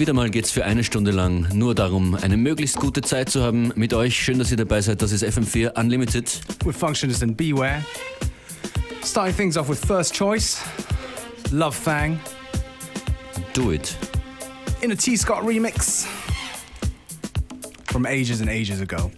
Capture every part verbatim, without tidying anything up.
Wieder mal geht's für eine Stunde lang nur darum, eine möglichst gute Zeit zu haben mit euch. Schön, dass ihr dabei seid. Das ist F M vier Unlimited. With Functionist and Beware. Starting things off with First Choice, Love Fang. Do it. In a T. Scott remix from ages and ages ago.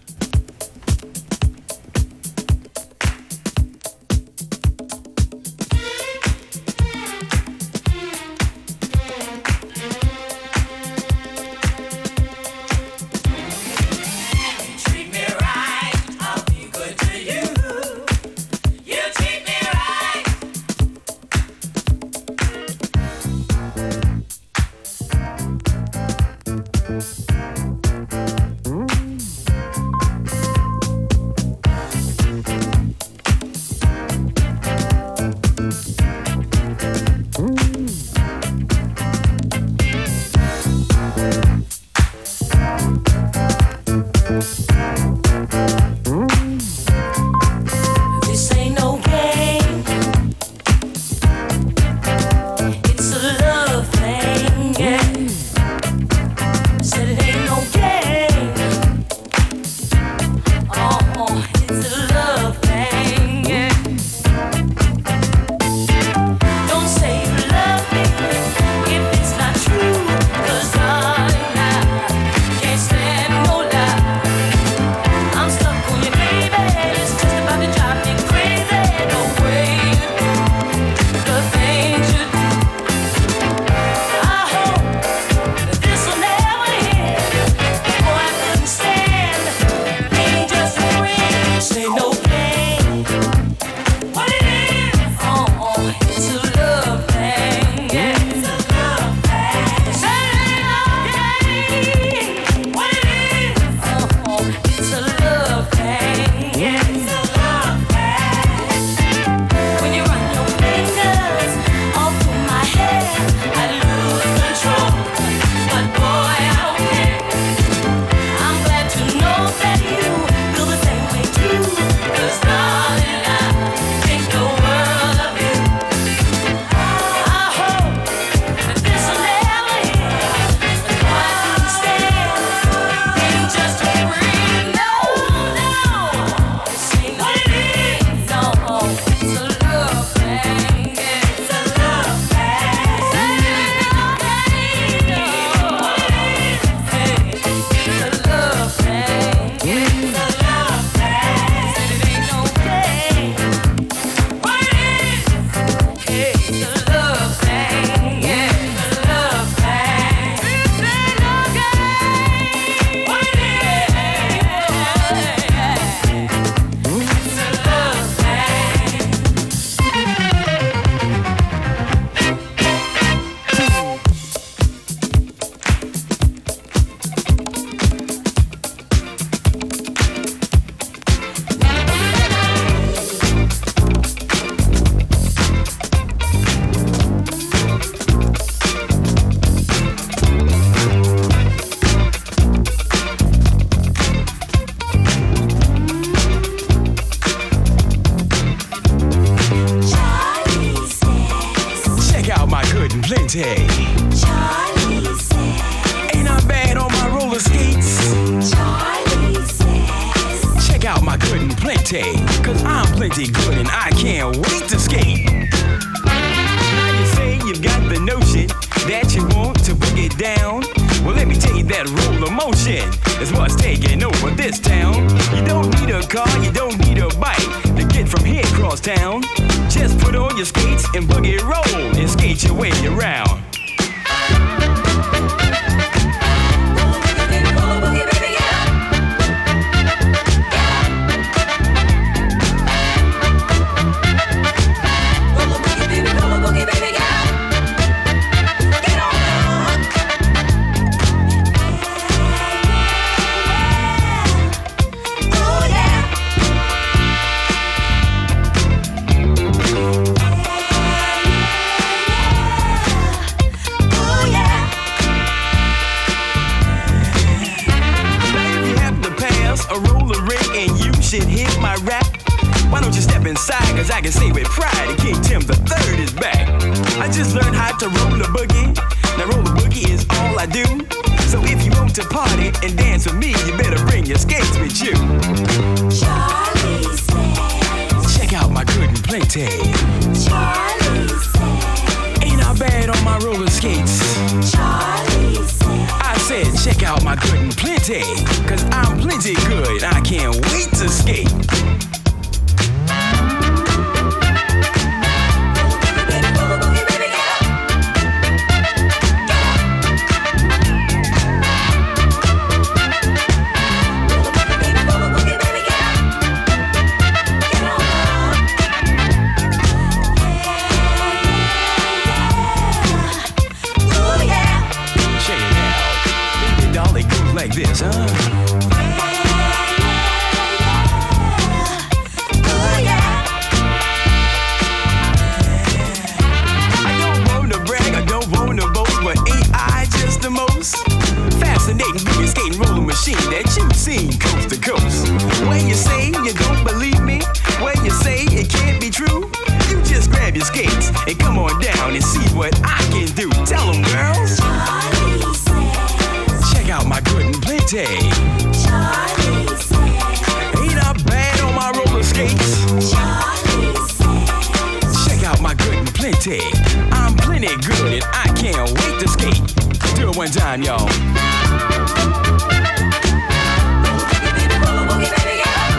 I can say with pride that King Tim the Third is back. I just learned how to roll a boogie. Now roller boogie is all I do. So if you want to party and dance with me, you better bring your skates with you. Charlie says, check out my good and plenty. Charlie says, ain't I bad on my roller skates? Charlie says, I said check out my good and plenty, cause I'm plenty good, I can't wait to skate. Like this, huh? ooh yeah. I don't want to brag, I don't want to boast, but ain't I just the most fascinating boogie skating roller machine that you've seen coast to coast? When you say you don't believe me, when you say it can't be true, you just grab your skates and come on down and see what I can do. Tell them, girls. Charlie says, Check out my good and plenty. Charlie says, Ain't I bad on my roller skates? Charlie says, Check out my good and plenty. I'm plenty good and I can't wait to skate. Do it one time, y'all. roller boogie, baby, get up.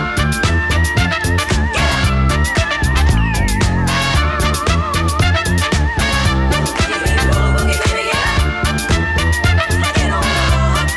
Roller boogie, baby, get up. Get on up.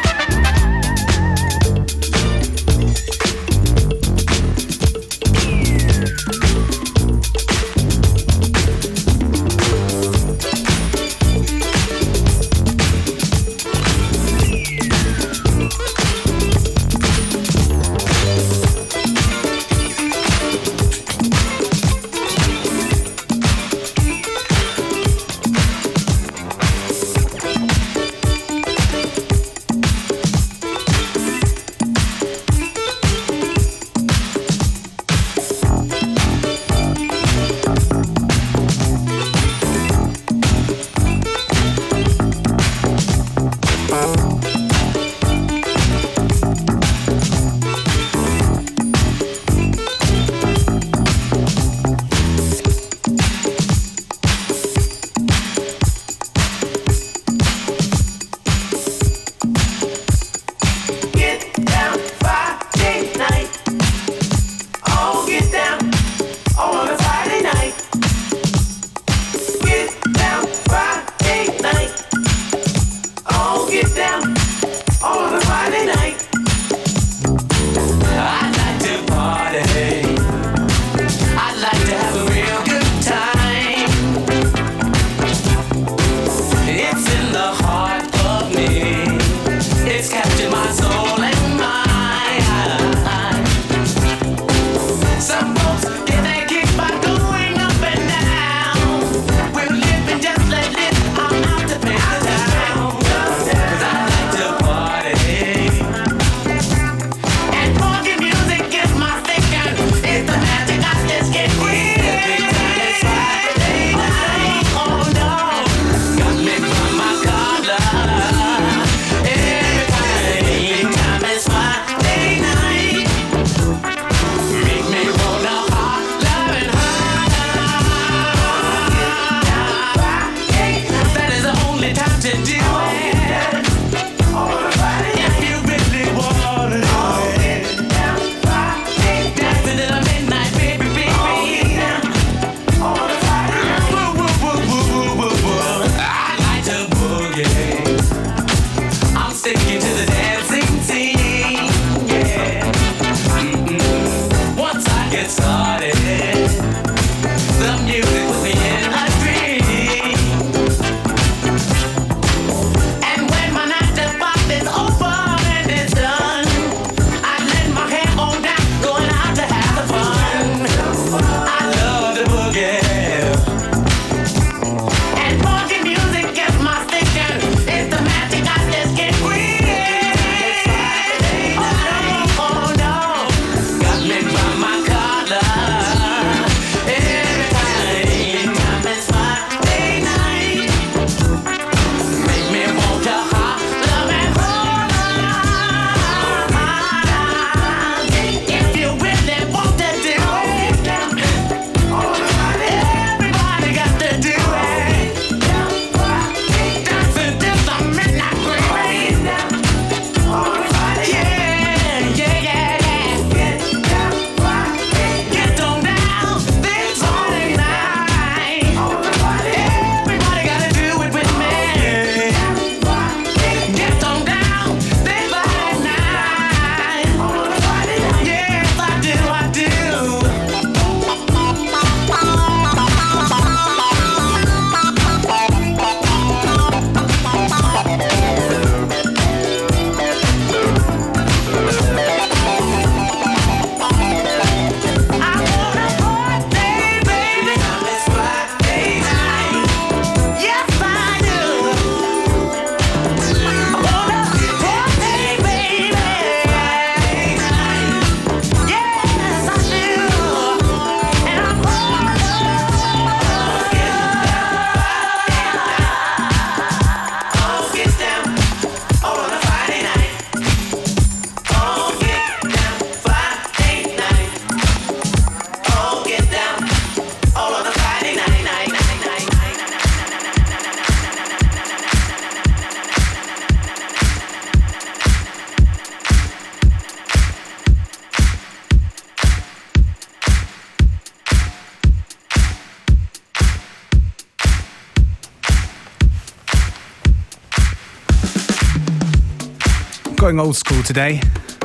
Going old school today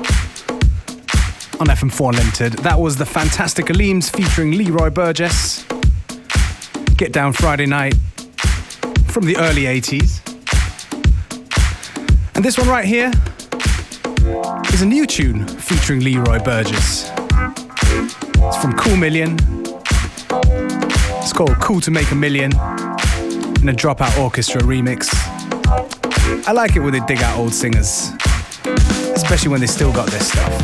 on F M four Unlimited. That was the fantastic Aleems featuring Leroy Burgess. Get Down Friday Night from the early eighties. And this one right here is a new tune featuring Leroy Burgess. It's from Cool Million. It's called Cool to Make a Million in a Dropout Orchestra remix. I like it when they dig out old singers, especially when they still got this stuff.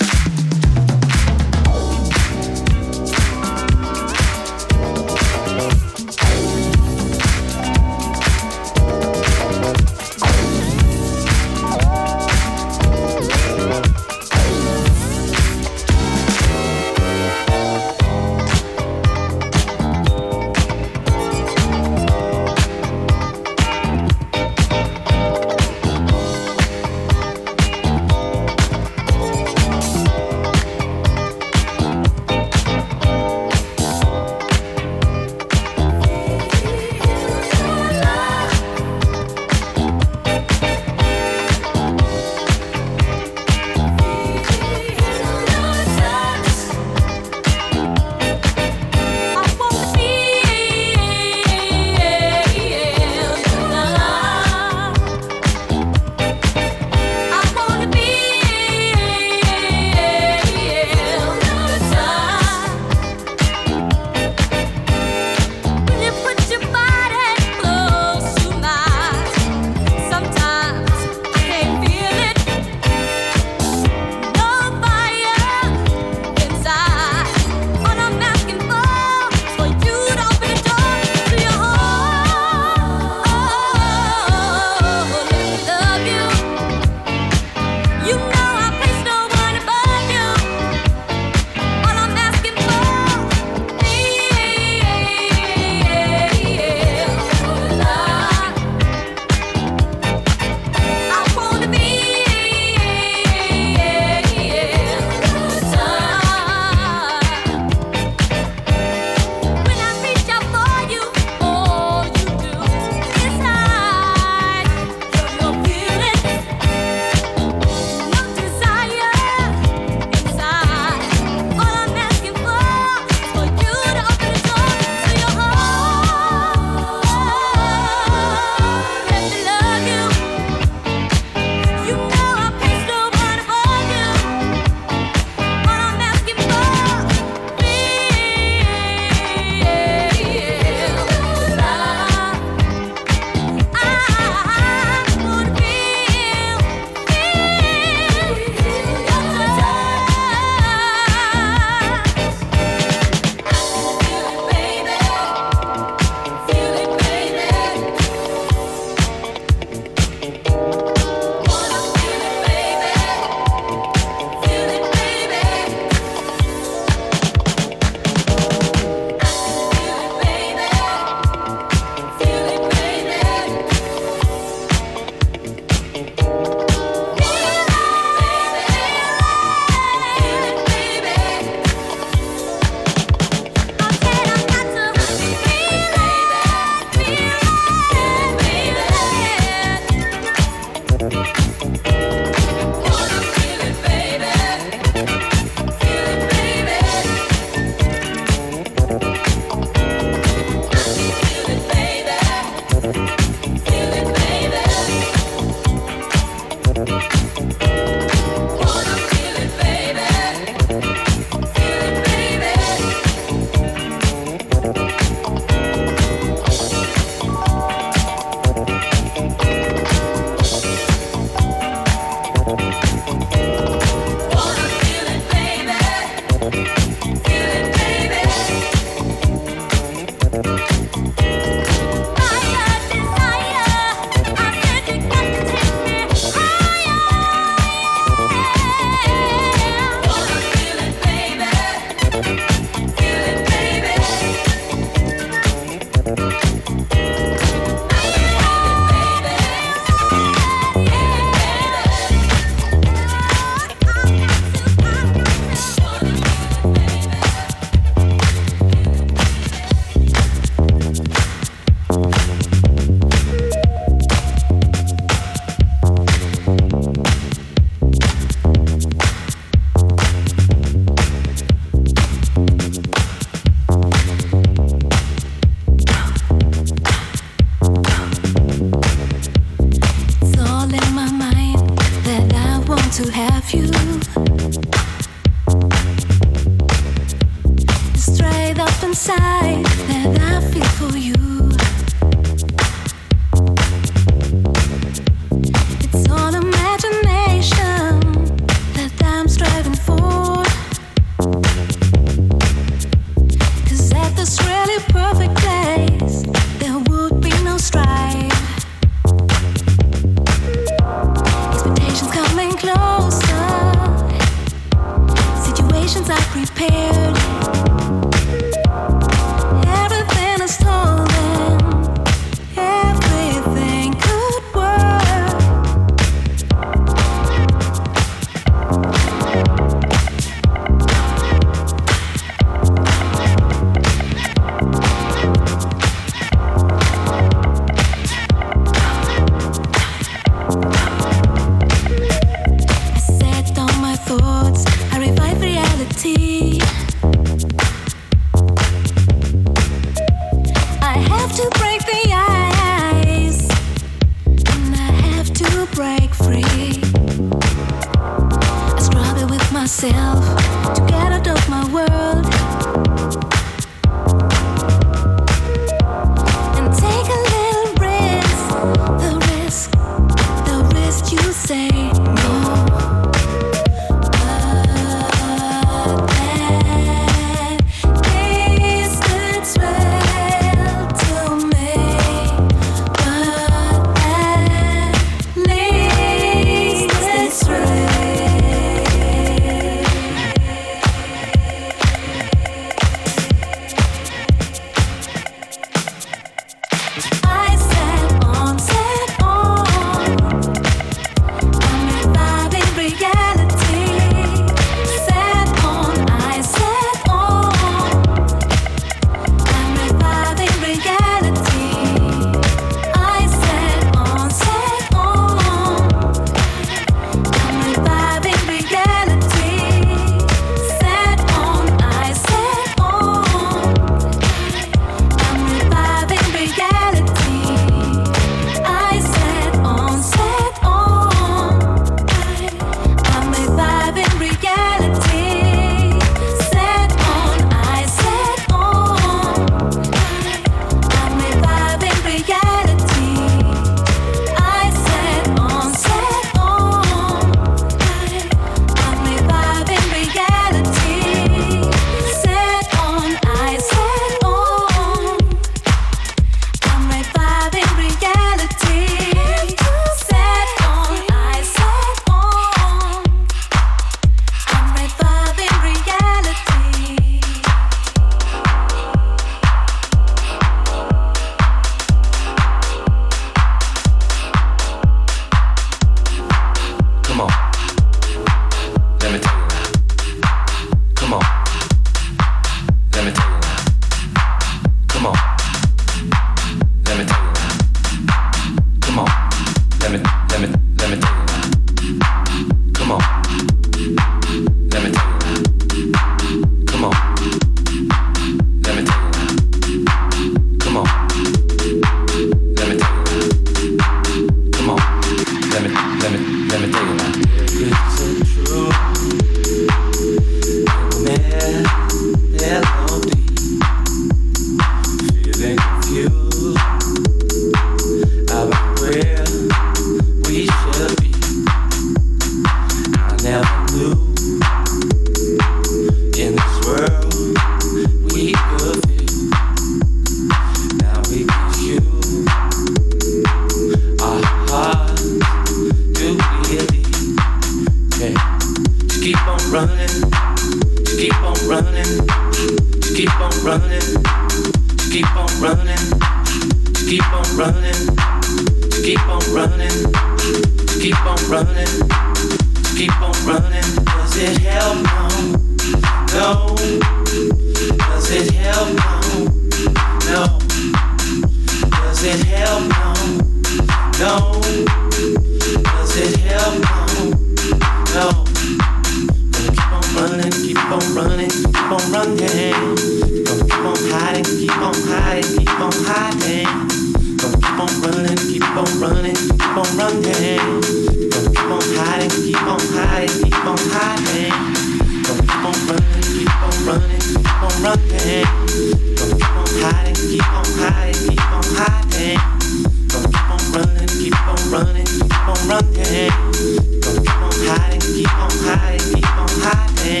keep on running, to keep on running, to keep on running, to keep on running, to keep on running, to keep on running, to keep on running. Does it help? No. No. Does it help? No. Does it help? No. Does it help? No. Keep on running, keep on running, keep on running. Gonna keep on hiding, keep on hiding, keep on hiding. Gonna keep on running, keep on running, keep on running. Gonna keep on hiding, keep on hiding, keep on hiding. Gonna keep on running, keep on running, keep on running. Gonna keep on hiding, keep on hiding, keep on hiding. Gonna keep on running, keep on running, keep on running. Gonna keep on hiding, keep on hiding, keep on hiding.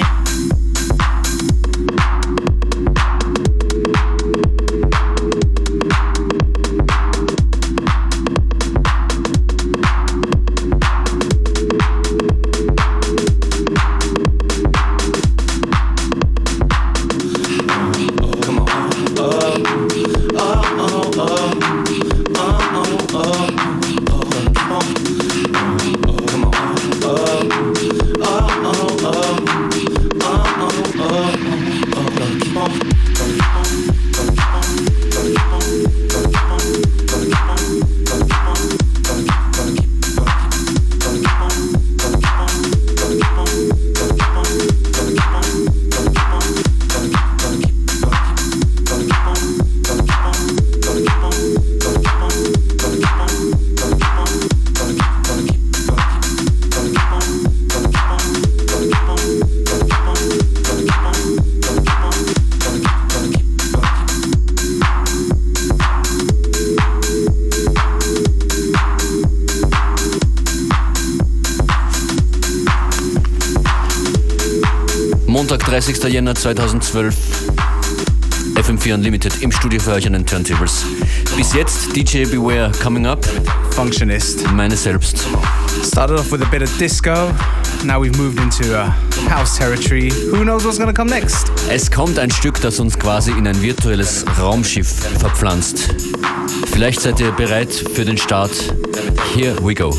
Montag, dreißigster Jänner zweitausendzwölf. F M vier Unlimited im Studio für euch an den Turntables. Bis jetzt D J Beware coming up. Functionist. Meine selbst. Started off with a bit of disco. Now we've moved into uh, house territory. Who knows what's going to come next? Es kommt ein Stück, das uns quasi in ein virtuelles Raumschiff verpflanzt. Vielleicht seid ihr bereit für den Start. Here we go.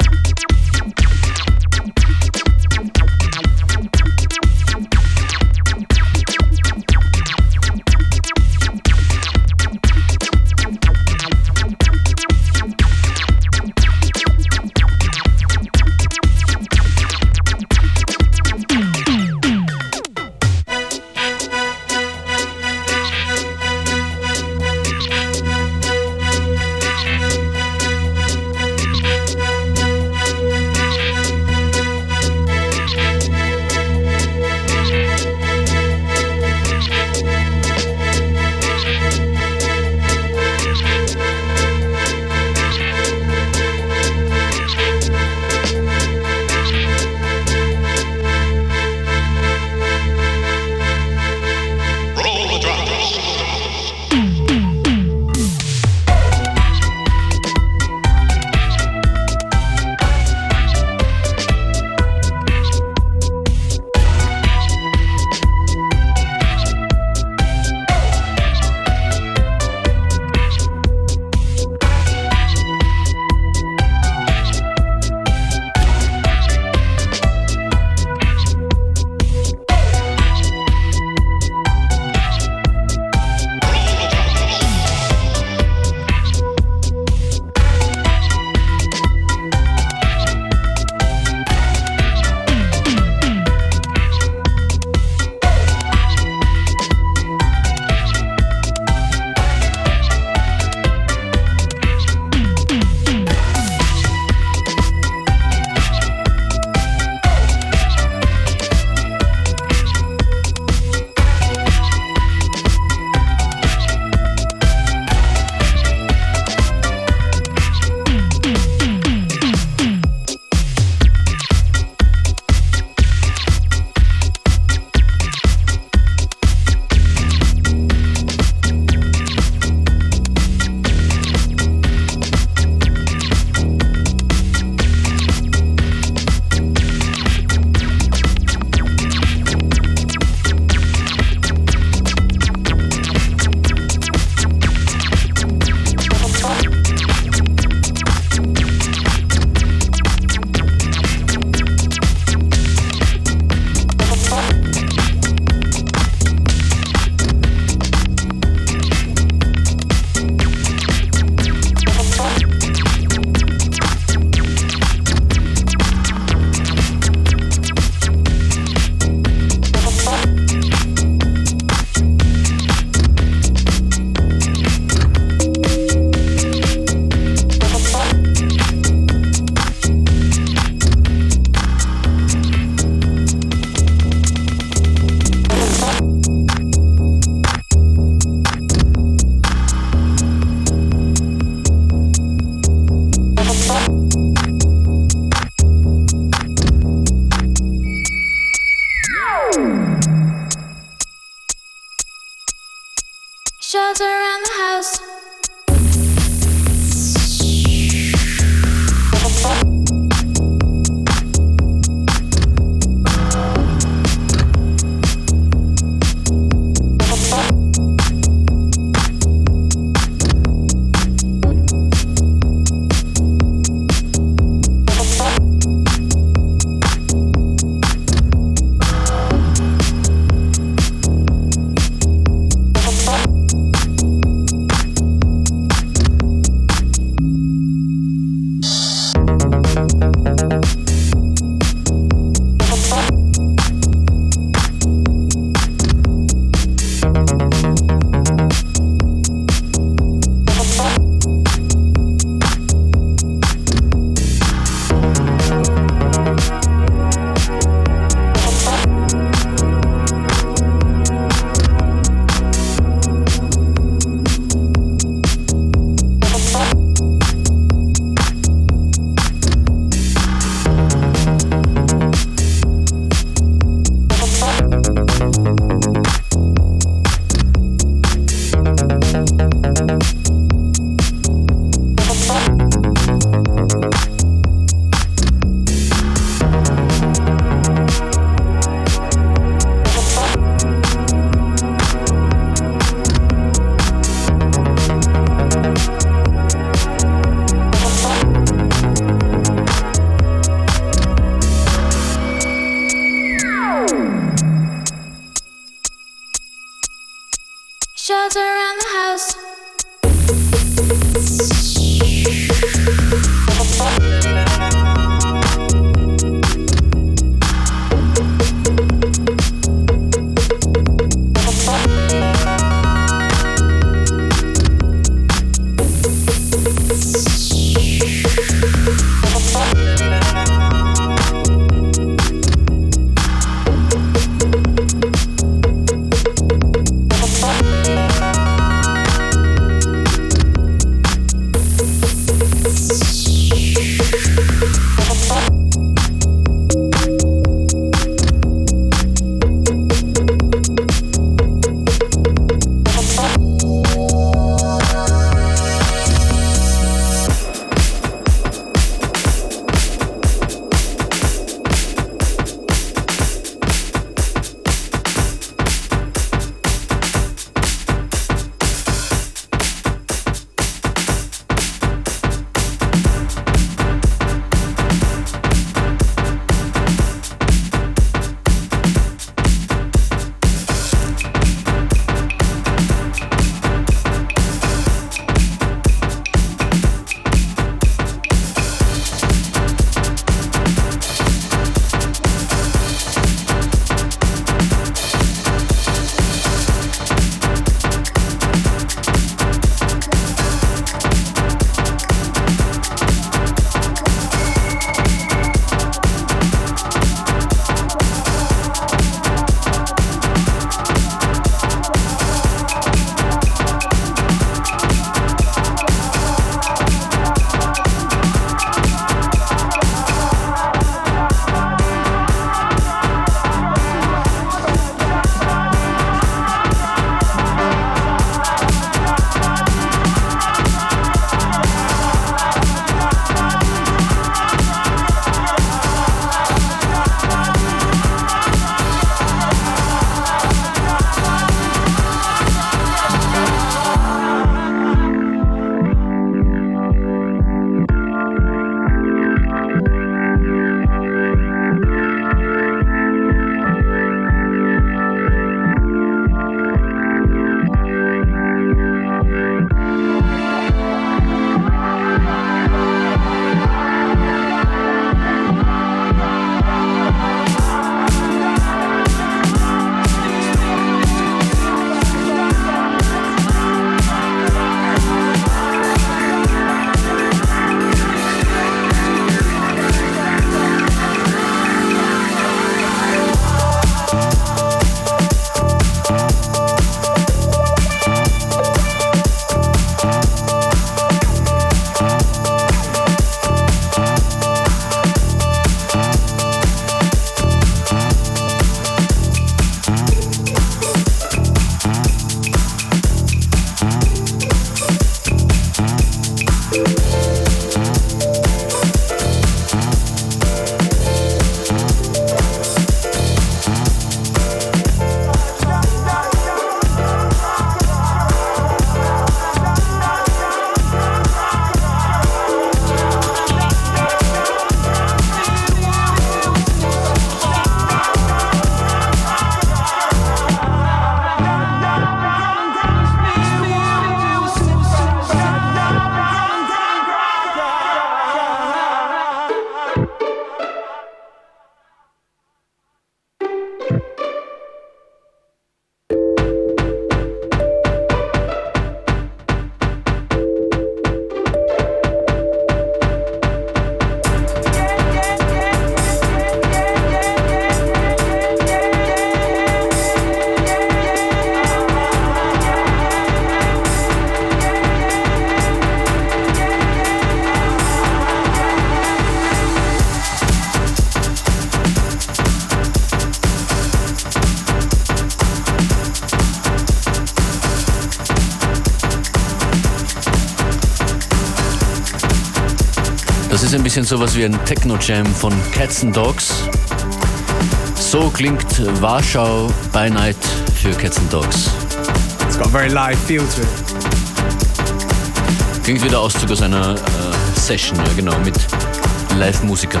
Das ist ein bisschen sowas wie ein Techno-Jam von Cats and Dogs. So klingt Warschau by Night für Cats and Dogs. It's got a very live feel to it. Klingt wie der Auszug aus einer äh, Session, ja genau, mit Live-Musikern.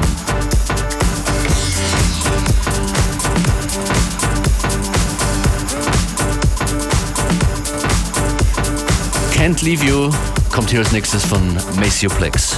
Can't Leave You kommt hier als nächstes von Maceo Plex.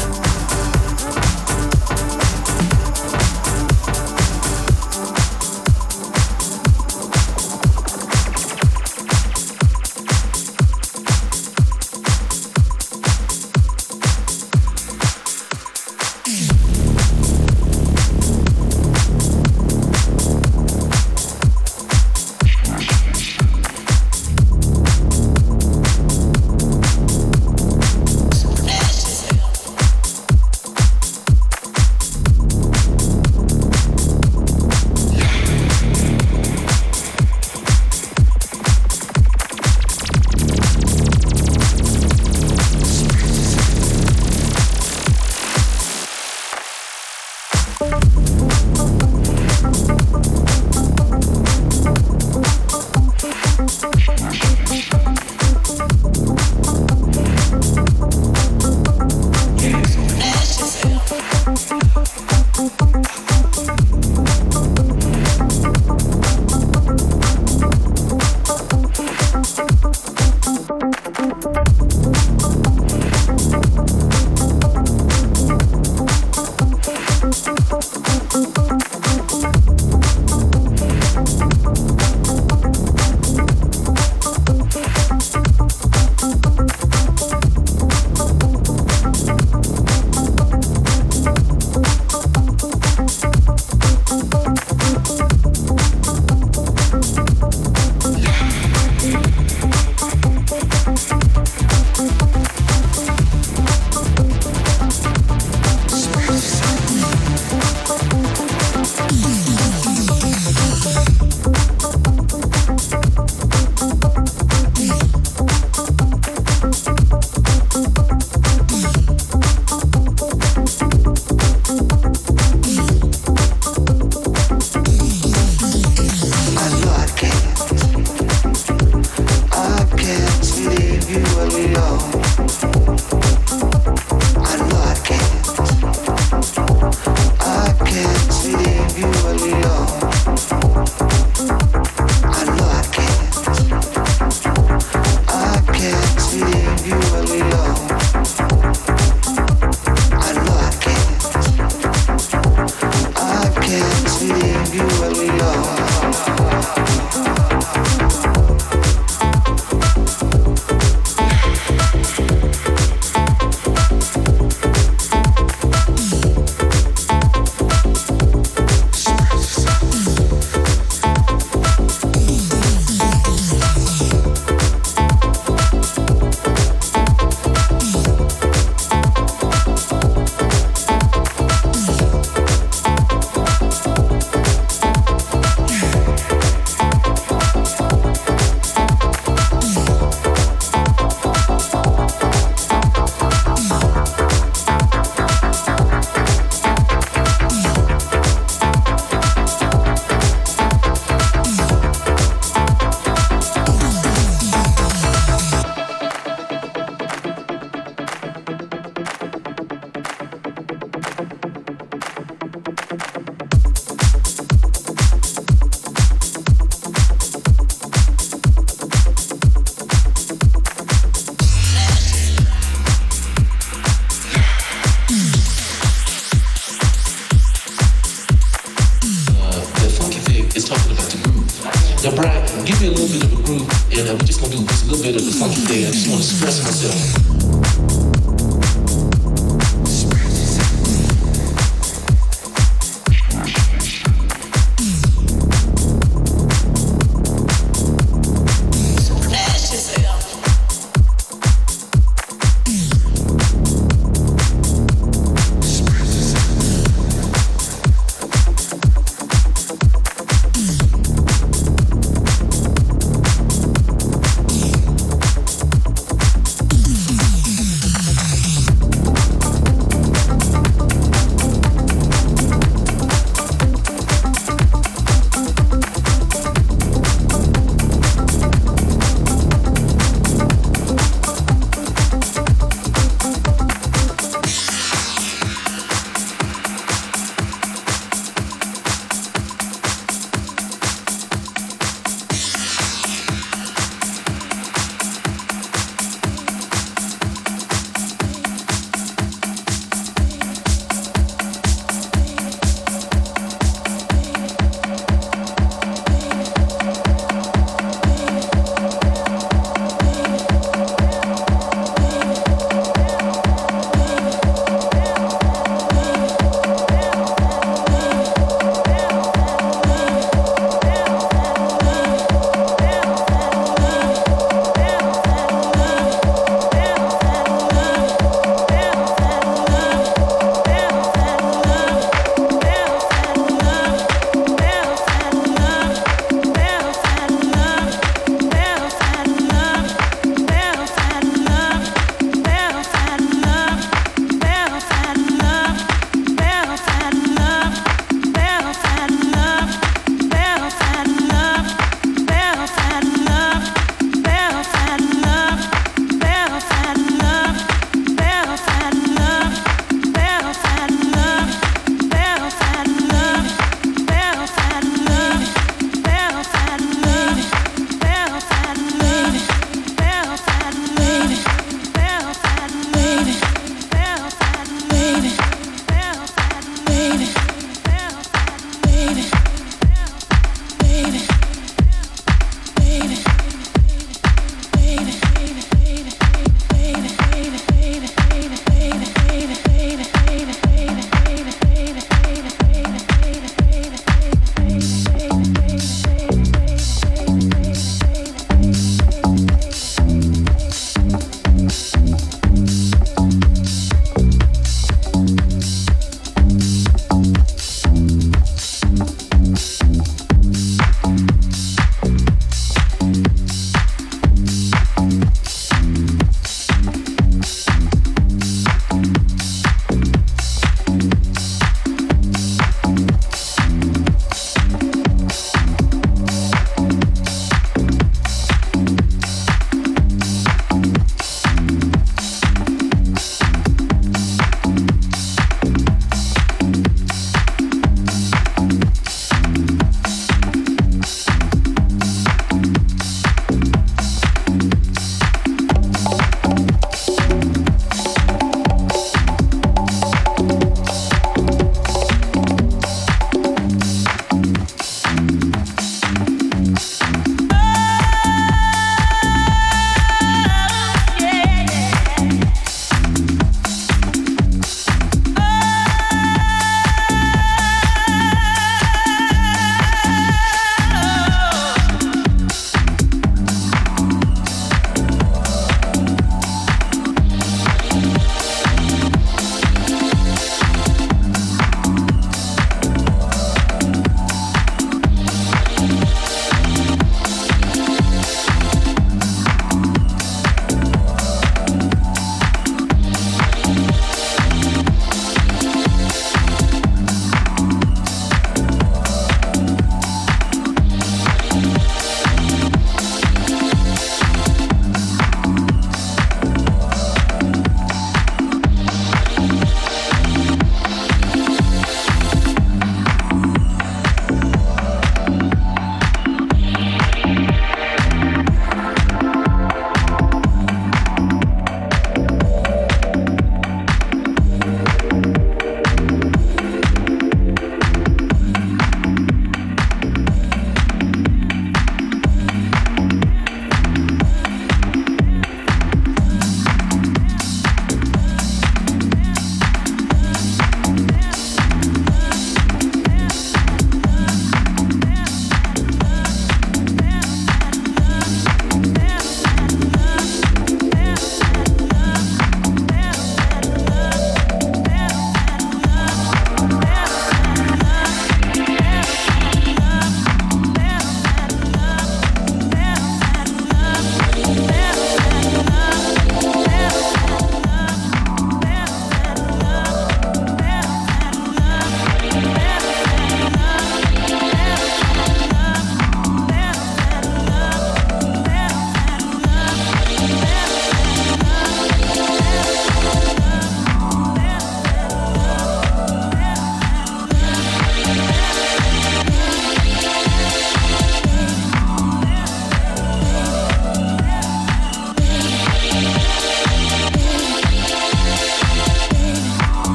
Yo, Brian, give me a little bit of a groove, and uh, we're just gonna do just a little bit of the funky thing. I just wanna express myself.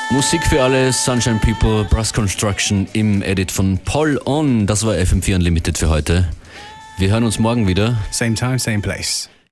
Musik für alle, Sunshine People, Brass Construction im Edit von Paul On. Das war F M vier Unlimited für heute. Wir hören uns morgen wieder. Same time, same place.